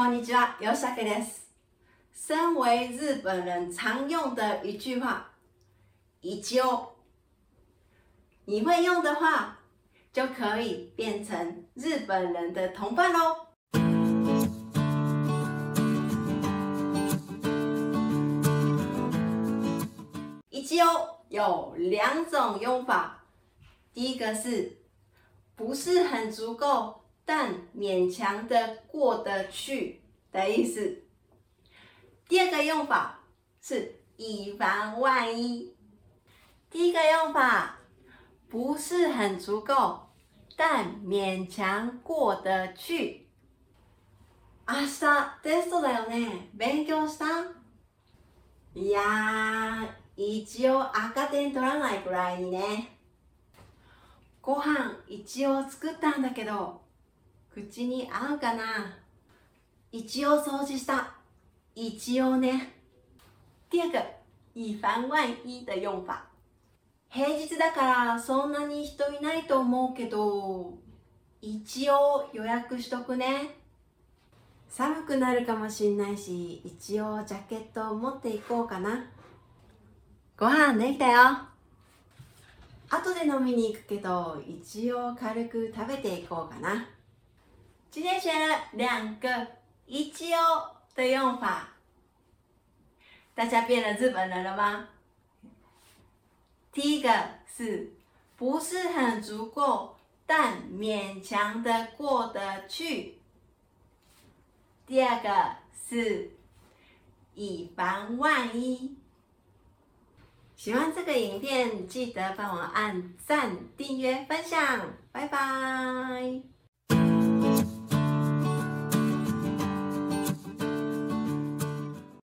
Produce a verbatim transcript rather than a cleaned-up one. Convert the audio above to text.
こんにちは、吉武です。身为日本人常用的一句话，一応，你会用的话，就可以变成日本人的同伴咯。一応有两种用法，第一个是不是很足够，但勉强的过得去的意思。第二个用法是以防万一。第一个用法不是很足够，但勉強過得去。明日テストだよね。勉強した？いやー、一応赤点取らないくらいにね。ご飯一応作ったんだけど、口に合うかな？一応掃除した。一応ね。第二个以防万一的用法。平日だからそんなに人いないと思うけど、一応予約しとくね。寒くなるかもしんないし、一応ジャケット持っていこうかな。ご飯できたよ。後で飲みに行くけど、一応軽く食べていこうかな。今天学了两个一応的用法，大家变了日本人了吗？第一个是不是很足够，但勉强的过得去。第二个是以防万一。喜欢这个影片，记得帮我按赞、订阅、分享，拜拜。